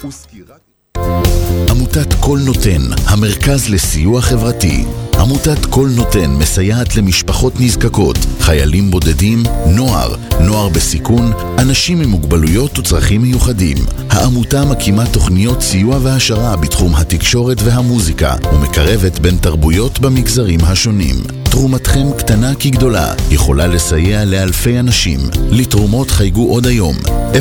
עמותת כל נותן, המרכז לסיוע חברתי. עמותת כל נותן מסייעת למשפחות נזקקות, חיילים בודדים, נוער בסיכון, אנשים עם מוגבלויות וצרכים מיוחדים. העמותה מקימה תוכניות סיוע והשרה בתחום התקשורת והמוזיקה, ומקרבת בין תרבויות במגזרים השונים. תרומתכם קטנה כגדולה, יכולה לסייע לאלפי אנשים. לתרומות חייגו עוד היום,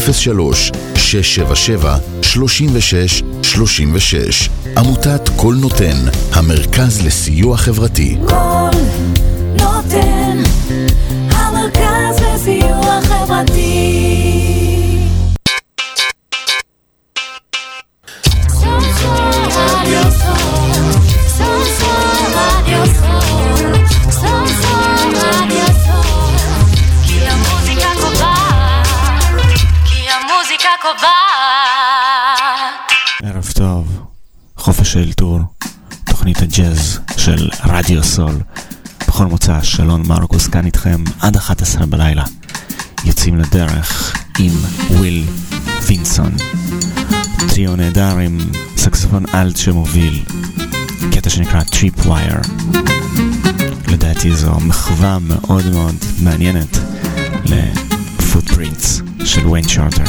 03-677-3636. עמותת כל נותן, המרכז לסיוע חברתי. כל נותן, המרכז לסיוע חברתי. ערב טוב, חופש האלתור, תוכנית הג'אז של רדיו סול. בכל מוצא, שלון מרקוס כאן איתכם עד 11 בלילה. יוצאים לדרך עם וויל וינסון, טריו נהדר עם סקסופון אלט שמוביל קטע שנקרא טריפ ווייר. לדעתי זו מחווה מאוד מאוד מעניינת לפוטפרינטס של ויין שרטר.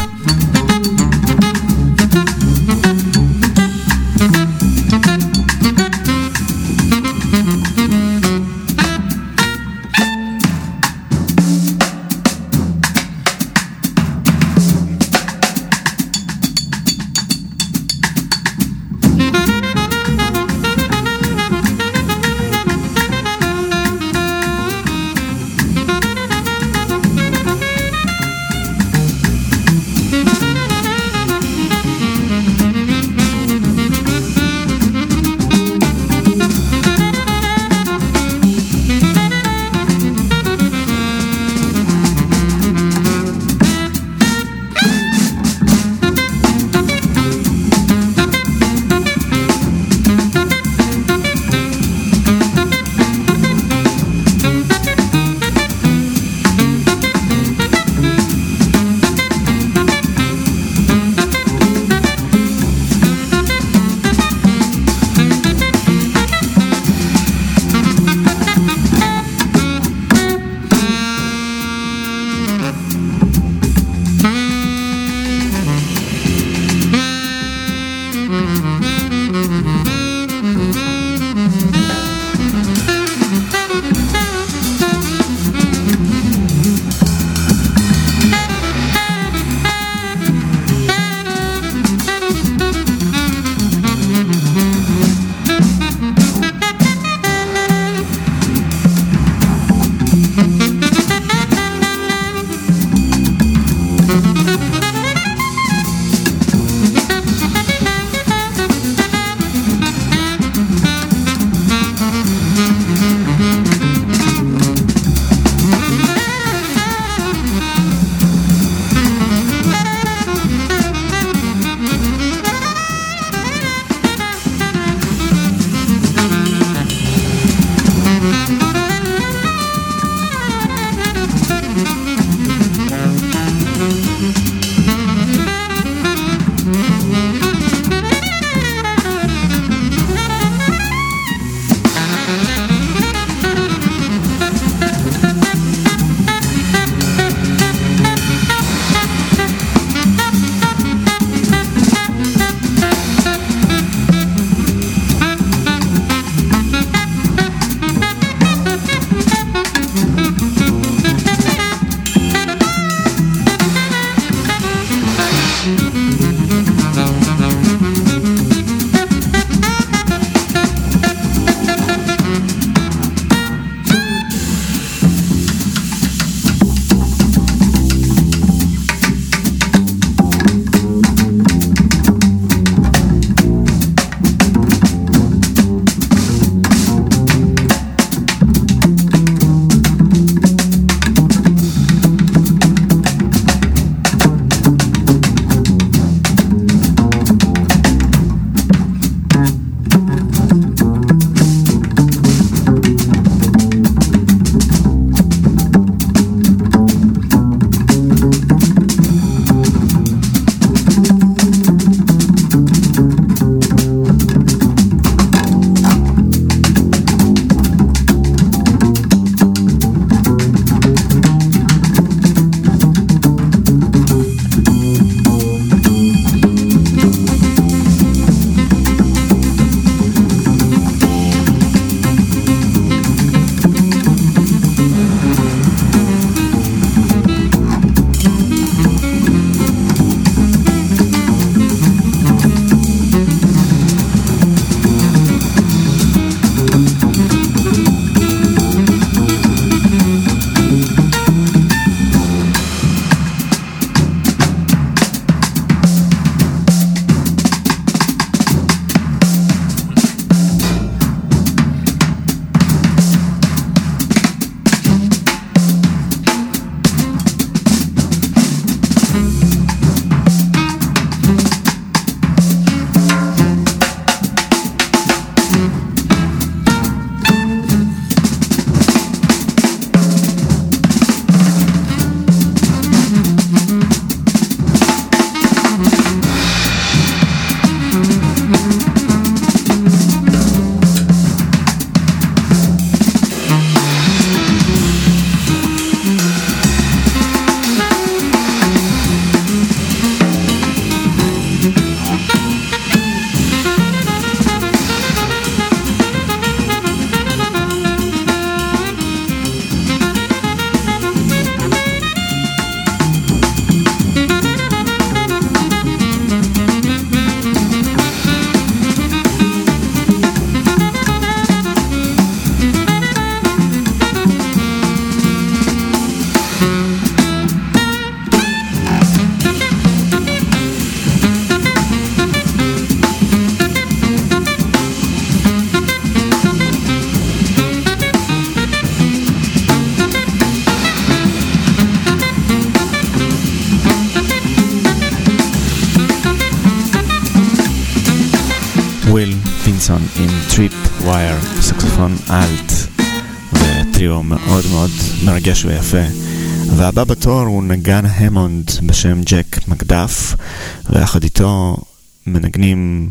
וויל פינסון עם טריפ ווייר, סקסופון אלט, וטריו מאוד מאוד מרגש ויפה. והבא בתור הוא נגן המונד בשם ג'ק מקדף, ויחד איתו מנגנים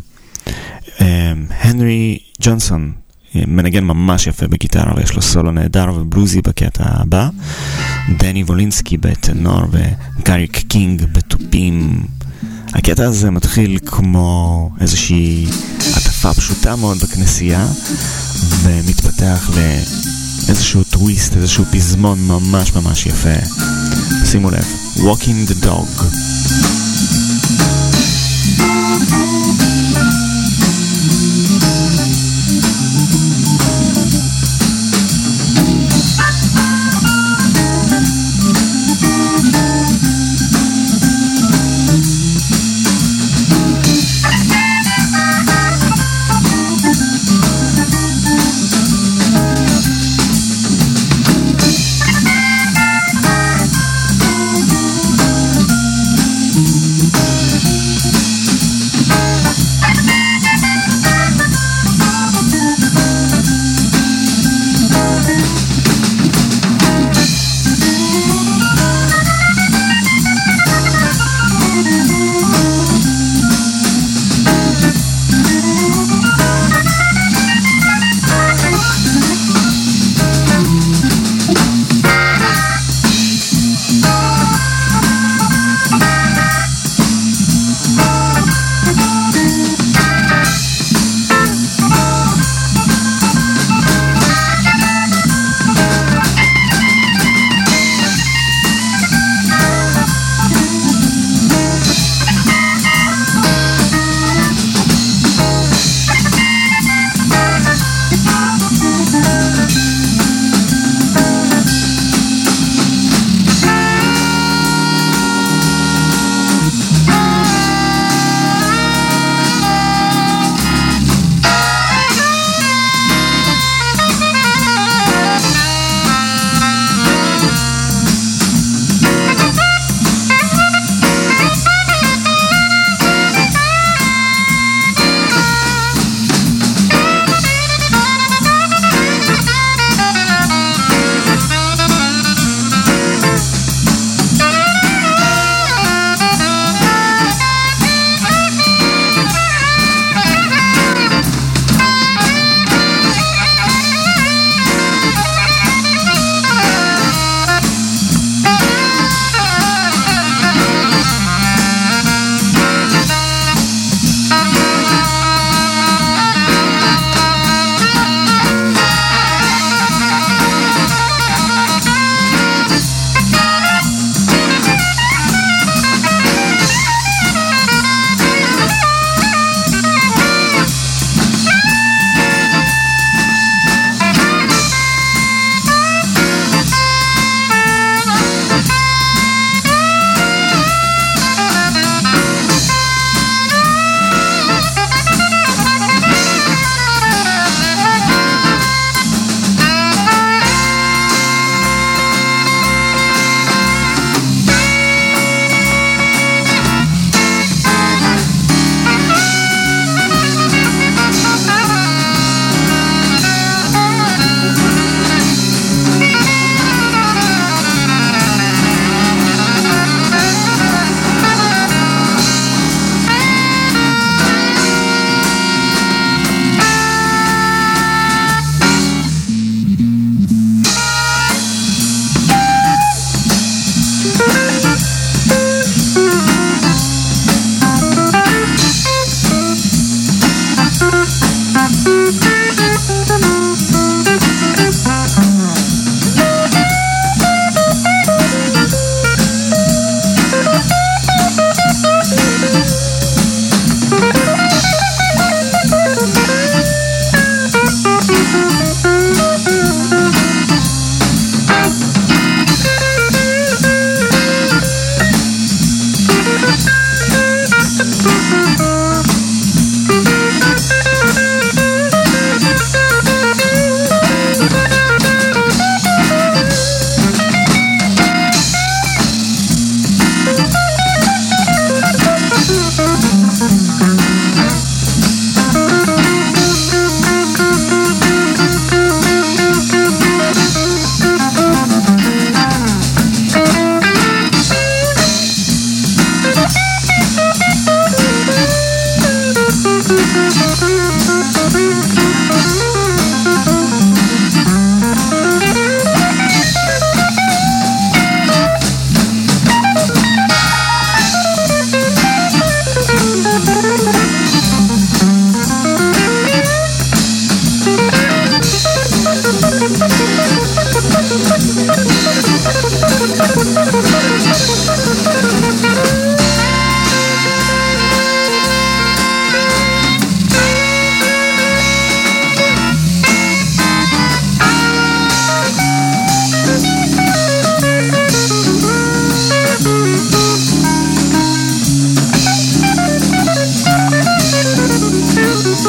הנרי ג'ונסון, מנגן ממש יפה בגיטרה ויש לו סולו נהדר ובלוזי בקטע הבא, דני וולינסקי בטנור וגאריק קינג בטופים. הקטע הזה מתחיל כמו איזושהי עטפה פשוטה מאוד בכנסייה ומתפתח לאיזשהו טוויסט, איזשהו פזמון ממש ממש יפה. שימו לב, Walking the Dog.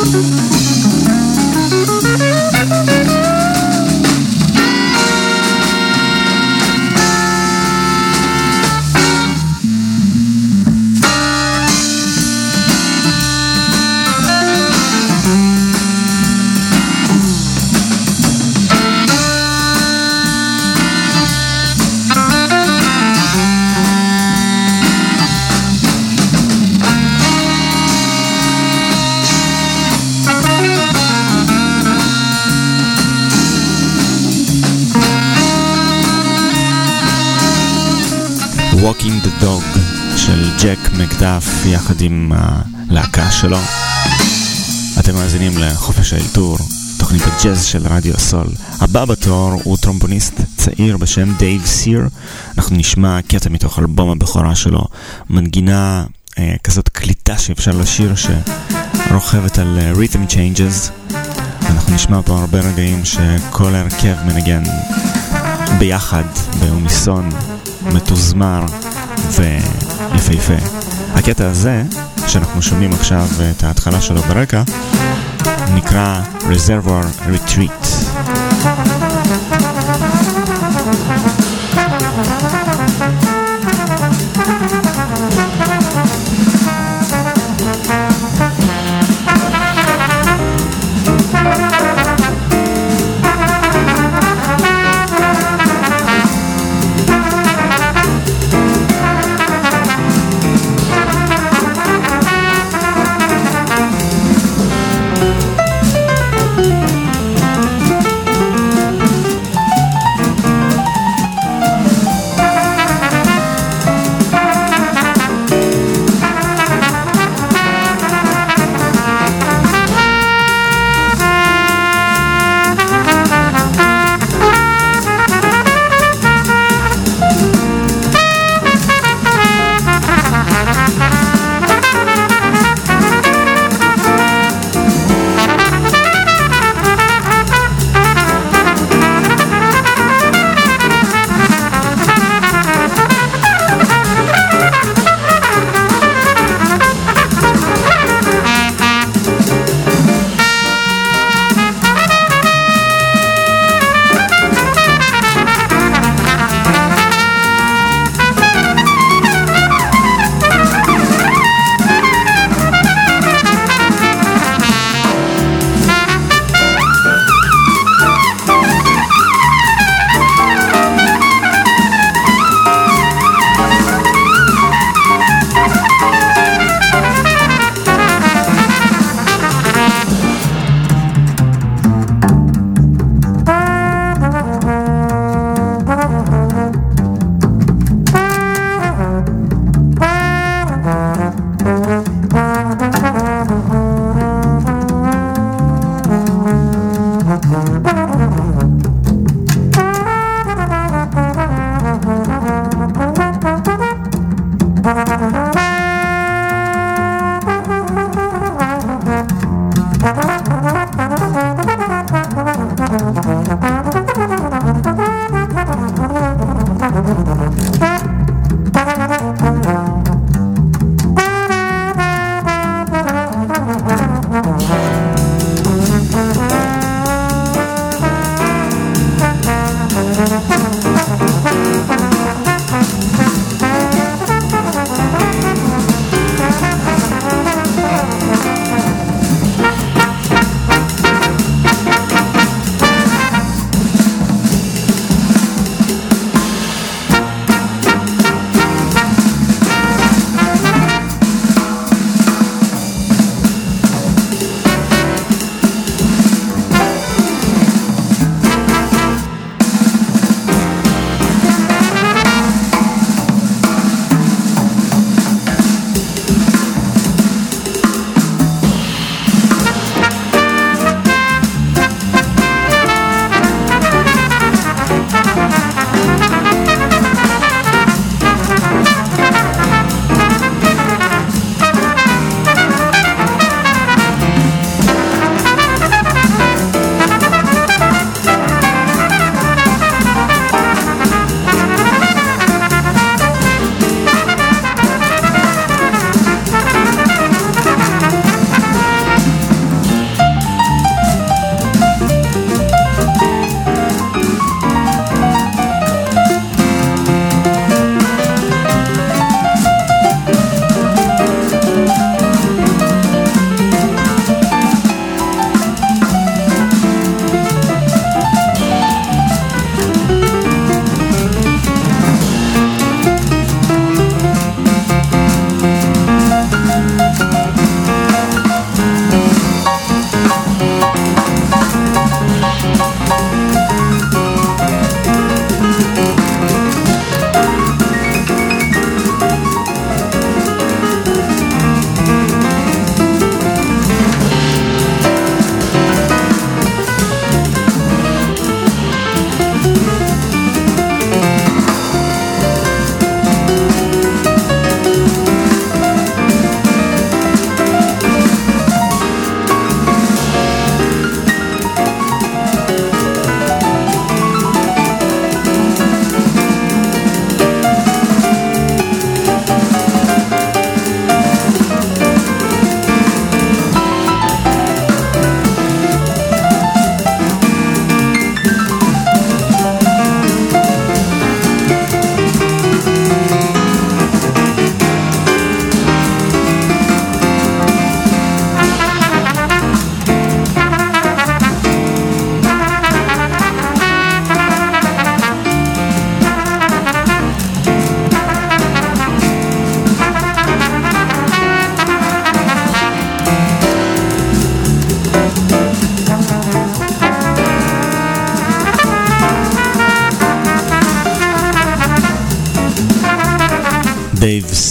Walking the Dog של ג'ק מקדף יחד עם הלהקה שלו. אתם מאזינים לחופש האלתור, תוכנית הג'אז של רדיו הסול. הבא בתור הוא טרומבוניסט צעיר בשם דייב סיר. אנחנו נשמע קטע מתוך אלבום הבכורה שלו, מנגינה כזאת קליטה שאפשר לשיר שרוכבת על rhythm changes. אנחנו נשמע פה הרבה רגעים שכל הרכב מנגן ביחד באוניסון מתוזמר ויפהפה. הקטע הזה שאנחנו שומעים עכשיו את ההתחלה שלו ברקע נקרא Reservoir Retreat.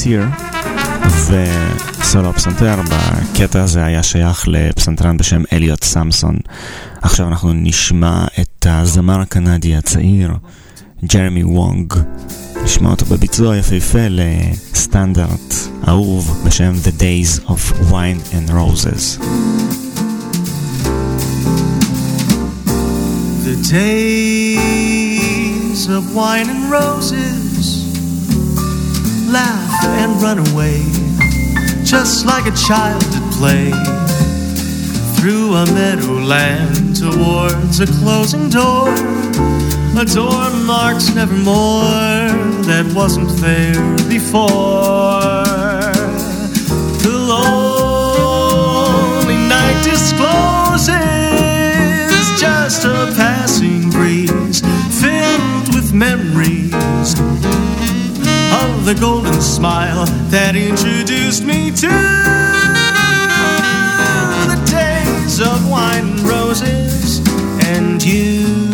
סיר, וסולו הפסנתר בקטע הזה היה שייך לפסנתרן בשם אליוט סמסון. עכשיו אנחנו נשמע את הזמר הקנדי הצעיר ג'רמי וונג, נשמע אותו בביצוע יפהפה לסטנדרט אהוב בשם The Days of Wine and Roses. The days of wine and roses, laugh and run away, just like a child at play, through a meadowland towards a closing door, a door marks nevermore that wasn't there before. The lonely night discloses just a passing breeze filled with memories of the golden smile that introduced me to the days of wine and roses and you.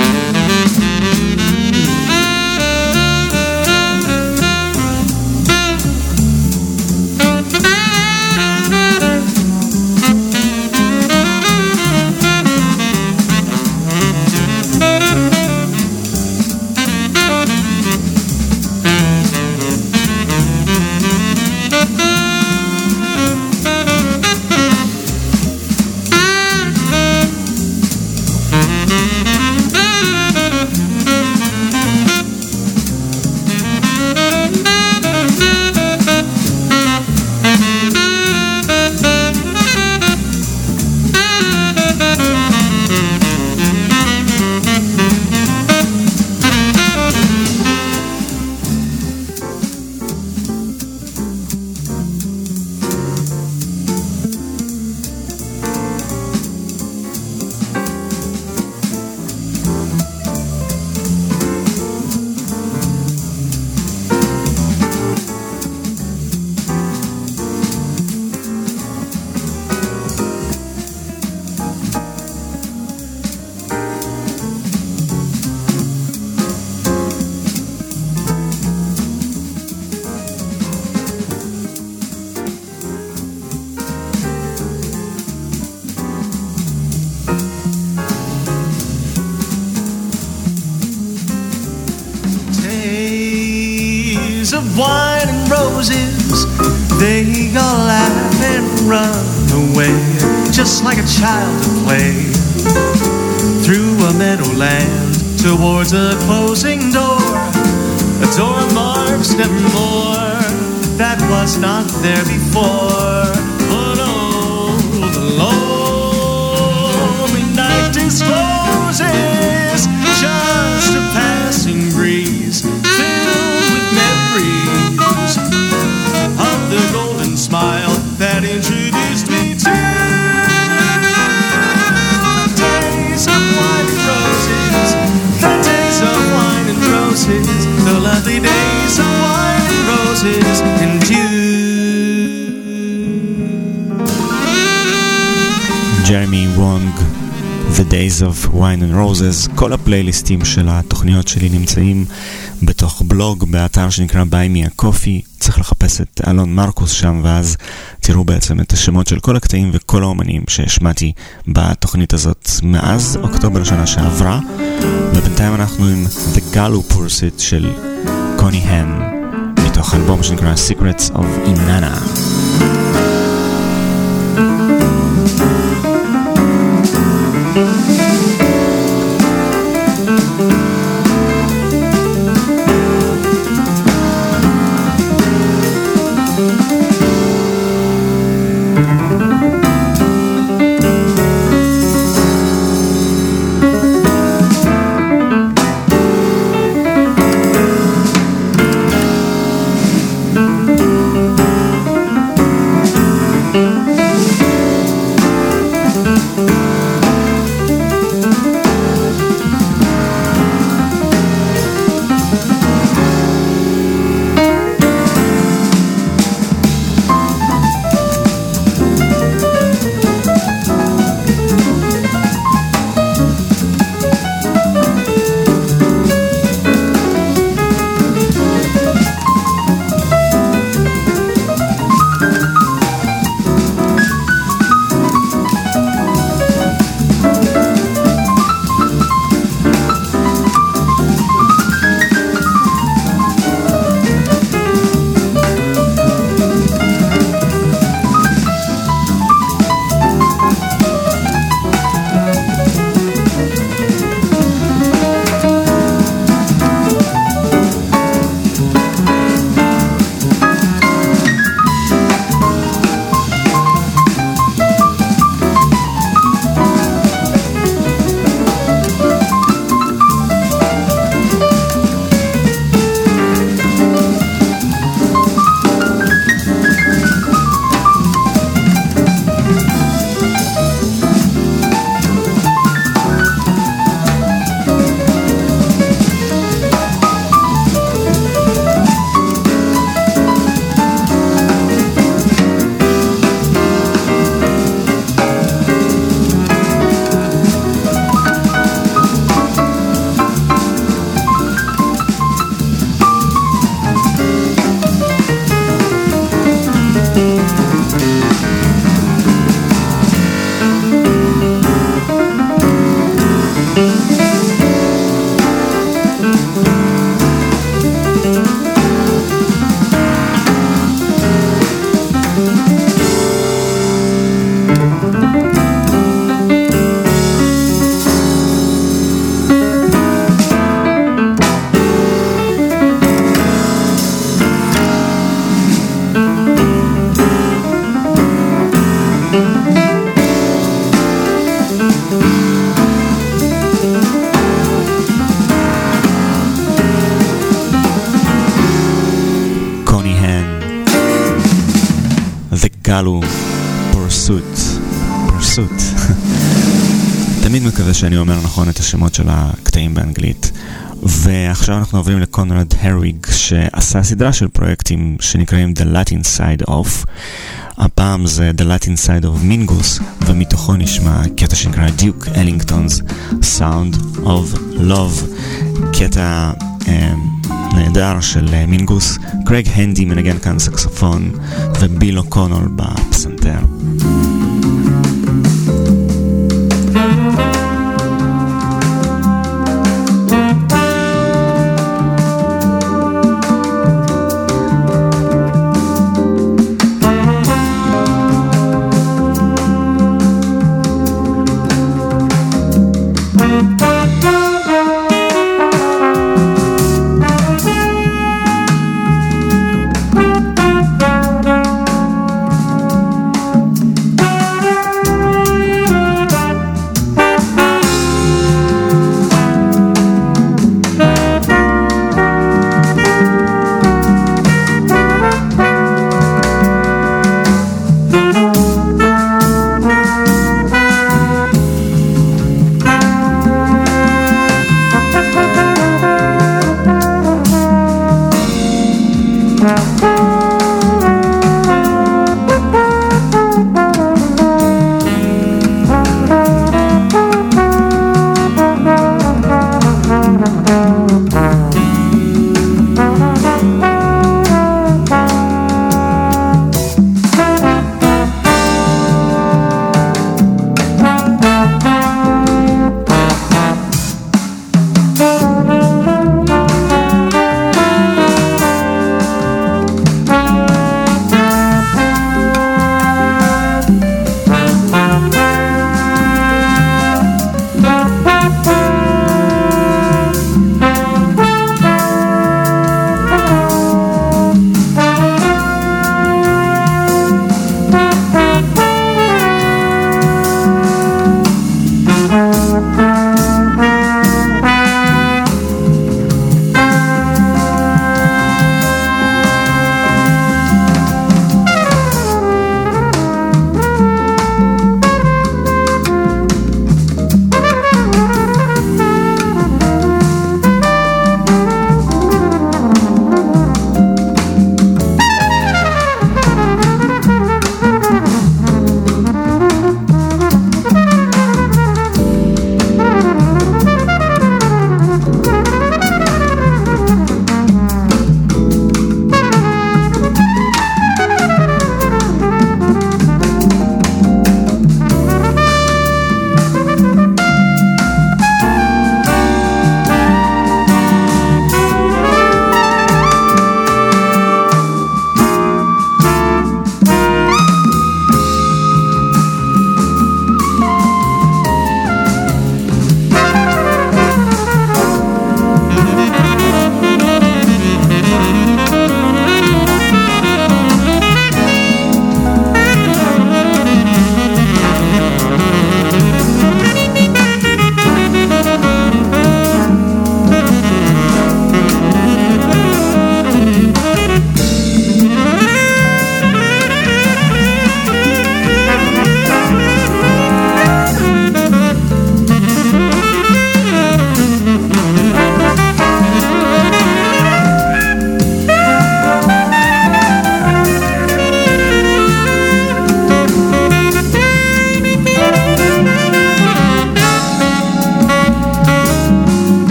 Wine and roses, they all laugh and run away, just like a child at play, through a meadowland towards a closing door, a door marks nevermore that was not there before. But oh, the lonely night discloses just a passing breeze filled with memories of the golden smile that introduced me to the days of wine and roses, the days of wine and roses, the lovely days of wine and roses and you. Jeremy Wong, The Days of Wine and Roses. כל הפלייליסטים של התוכניות שלי נמצאים בתוך בלוג באתר שנקרא Buy Me a Coffee. צריך לחפש את אלון מרקוס שם, ואז תראו בעצם את השמות של כל הקטעים וכל האומנים שהשמעתי בתוכנית הזאת מאז אוקטובר שנה שעברה. ובינתיים אנחנו עם The Gallo Pursuit של קוני הן, מתוך אלבום שנקרא Secrets of Inanna. הטייטל הוא Pursuit. תמיד מקווה שאני אומר נכון את השמות של הקטעים באנגלית. ועכשיו אנחנו עוברים לקונרד הריג, שעשה סדרה של פרויקטים שנקראים The Latin Side Of. הפעם זה The Latin Side of Mingus, ומתוכו נשמע קטע שנקרא Duke Ellington's Sound of Love, קטע נהדר של מינגוס. קרייג הנדי מנגן כאן סקסופון, וביל אוקונול בפסנתר.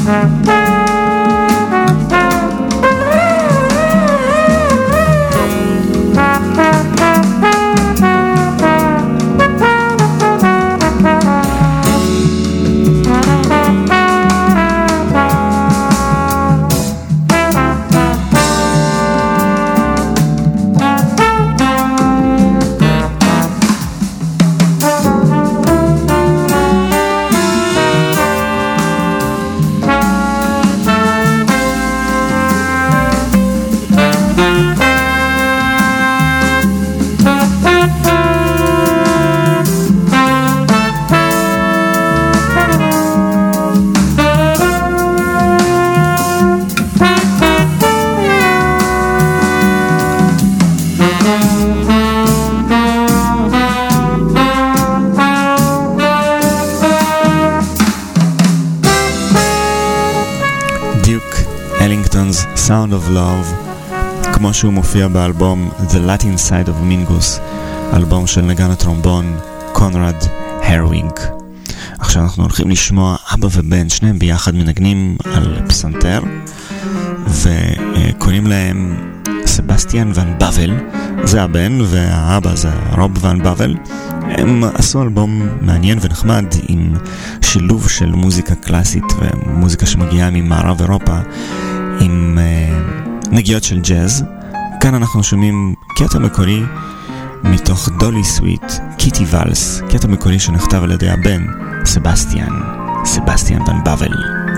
Sound of Love, כמו שהוא מופיע באלבום The Latin Side of Mingus, אלבום של נגן הטרומבון קונרד הרווינג. עכשיו אנחנו הולכים לשמוע אבא ובן, שניהם ביחד מנגנים על פסנתר, וקוראים להם סבסטיאן ון בבל, זה הבן, והאבא זה רוב ון בבל. הם עשו אלבום מעניין ונחמד עם שילוב של מוזיקה קלאסית ומוזיקה שמגיעה ממערב אירופה עם נגיעות של ג'אז. כאן אנחנו שומעים קטע מקורי מתוך דולי סוויט, קיטי ולס, קטע מקורי שנכתב על ידי הבן סבסטיאן ון בבל.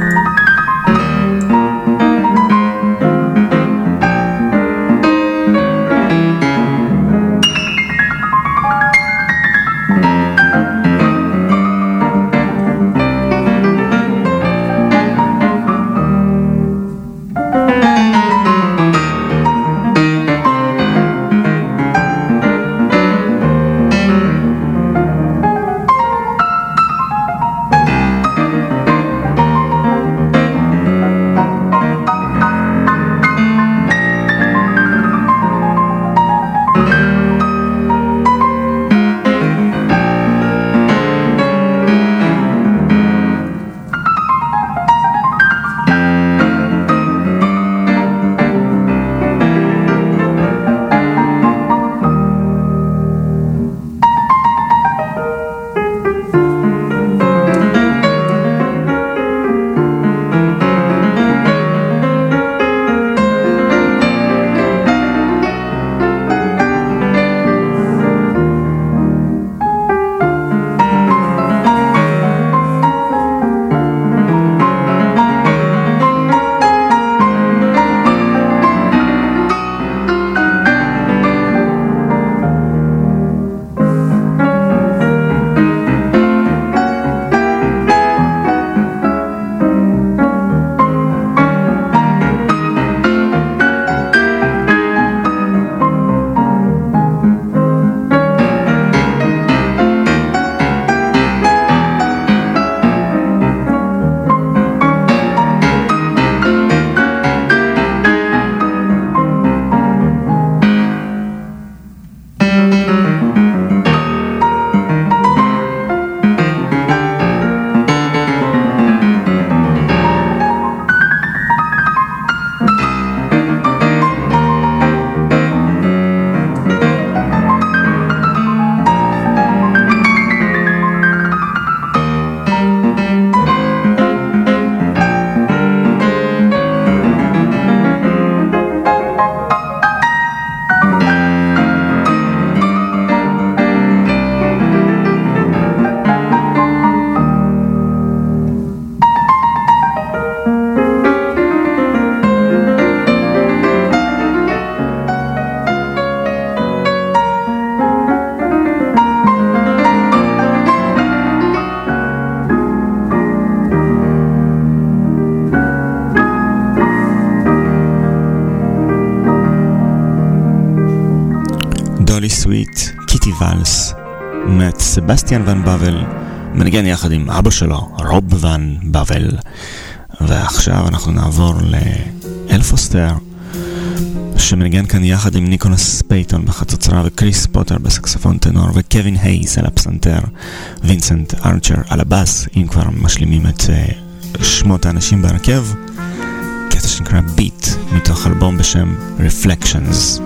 סבסטיאן ון בבל מנגן יחד עם אבא שלו רוב ון בבל. ועכשיו אנחנו נעבור לאל פוסטר שמנגן כאן יחד עם ניקולס פייטון בחצוצרה וקריס פוטר בסקסופון טנור וקווין הייס על הפסנתר, וינסנט ארצ'ר על הבאס, אם כבר משלימים את שמות האנשים בהרכב, קטע שנקרא ביט, מתוך אלבום בשם Reflections.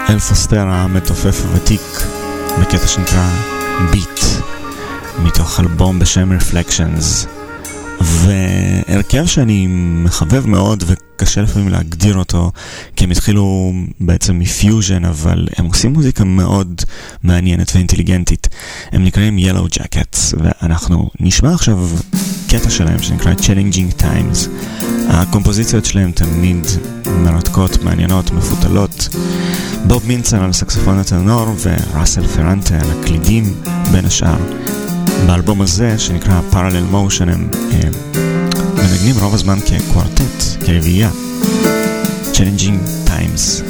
אל פוסטר המתופף הוותיק בקטע שנקרא ביט מתוך אלבום בשם Reflections, והרכב שאני מחבב מאוד וקשה לפעמים להגדיר אותו כי הם התחילו בעצם מפיוז'ן, אבל הם עושים מוזיקה מאוד מעניינת ואינטליגנטית. הם נקראים Yellow Jackets, ואנחנו נשמע עכשיו קטע שלהם שנקרא Challenging Times. הקומפוזיציות שלהם תמיד מרתקות, מעניינות, מפותלות. בוב מינצר על סקסופון הטנור וראסל פרנטה על הקלידים בין השאר. באלבום הזה שנקרא Parallel Motion הם מנגנים רוב הזמן כקוורטט, כרביעייה. Challenging Times.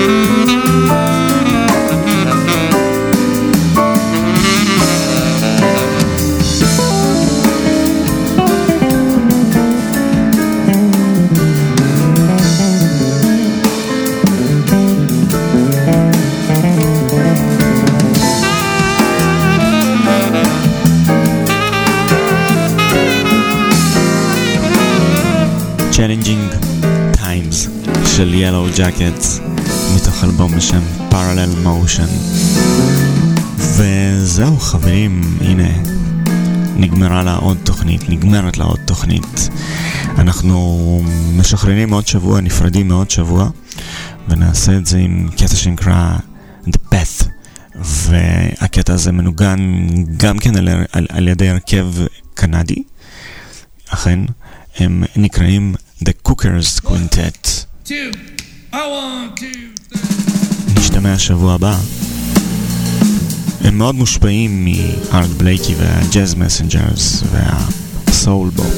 Challenging Times של Yellow Jackets מתוך אלבום בשם Parallel Motion. וזהו חברים, הנה נגמרת לה עוד תוכנית. אנחנו משחררים עוד שבוע, נפרדים מעוד שבוע, ונעשה את זה עם קטע שנקרא The Path, והקטע הזה מנוגן גם כן על ידי הרכב קנדי, אכן הם נקראים The Cookers Quintet. נשתמע שבוע הבא. הם מאוד מושפעים מארט בלייקי והג'אז מסנג'רס והסול בופ.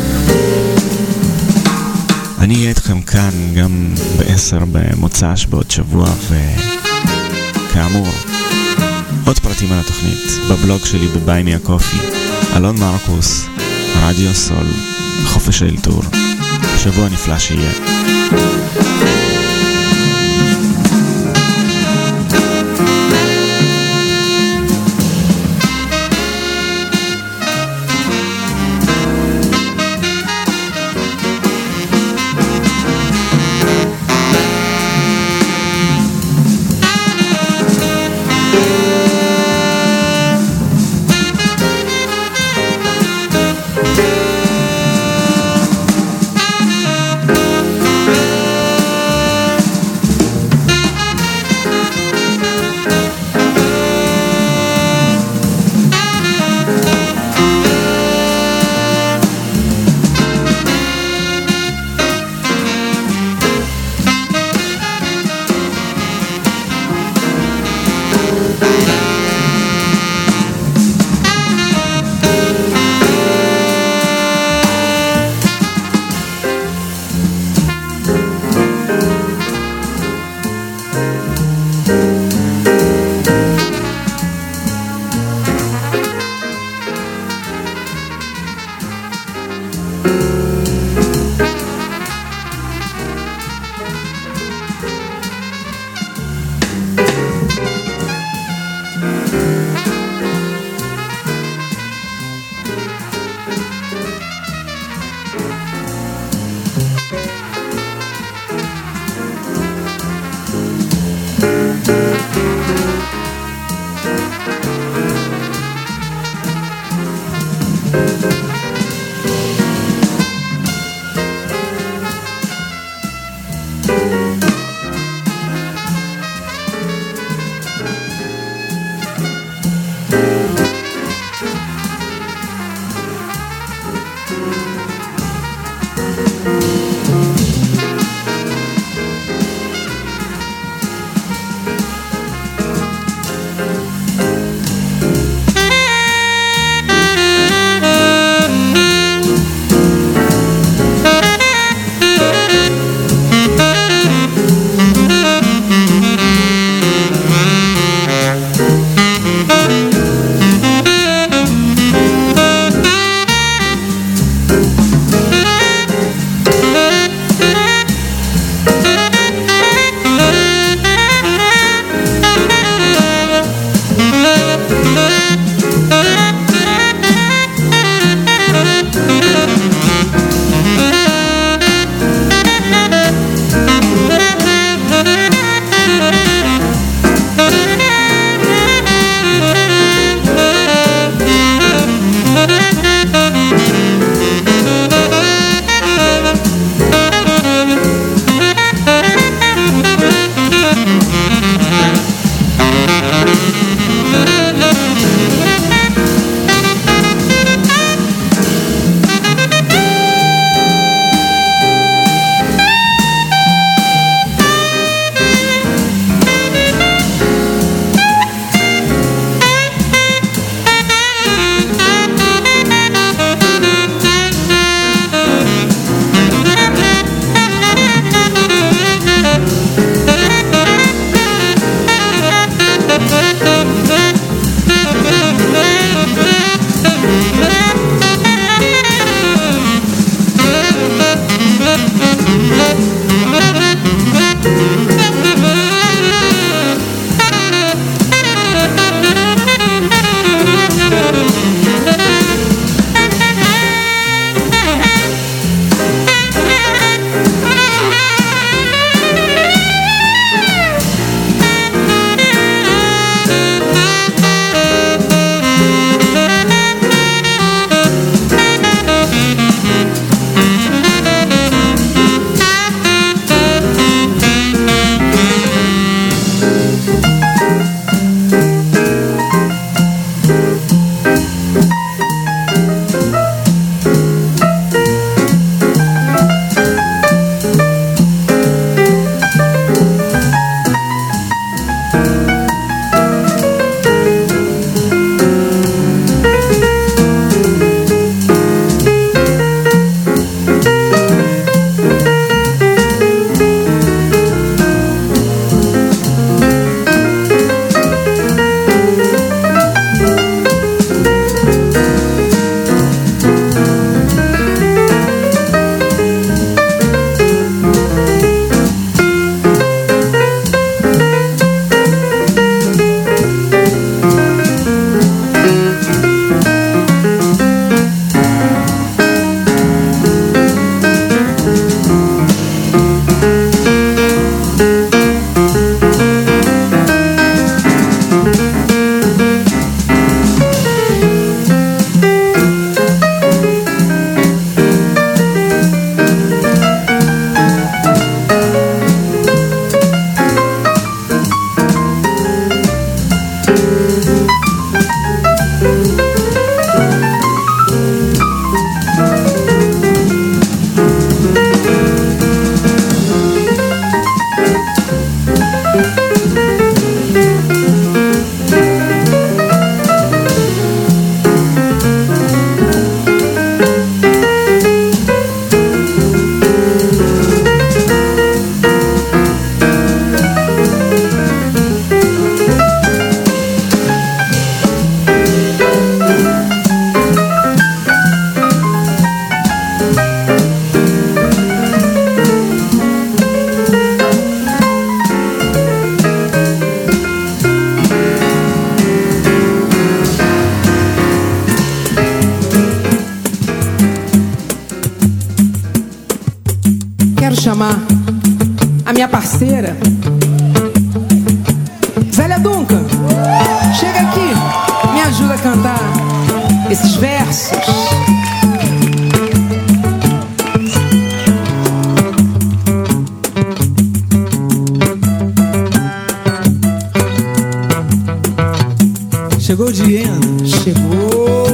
אני אהיה איתכם כאן גם ב-10 במוצ"ש בעוד שבוע, וכאמור עוד פרטים על התוכנית בבלוג שלי בביי מי הקופי. אלון מרקוס, רדיו סול, חופש האלתור. שבוע נפלא שיהיה. chamar a minha parceira, Zélia Duncan. Chega aqui, me ajuda a cantar esses versos. Chegou Diana, chegou.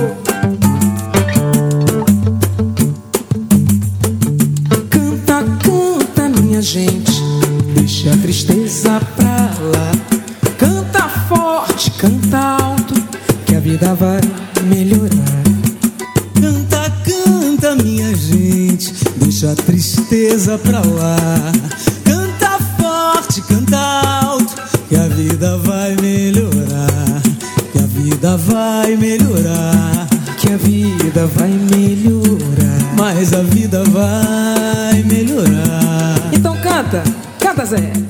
Canta, canta, minha gente, deixa a tristeza pra lá. Canta forte, canta alto, que a vida vai melhorar. Canta, canta, minha gente, deixa a tristeza pra lá. Canta forte, canta alto, que a vida vai melhorar. Que a vida vai melhorar. Que a vida vai melhorar. Mas a vida vai melhorar. Então canta, canta Zé.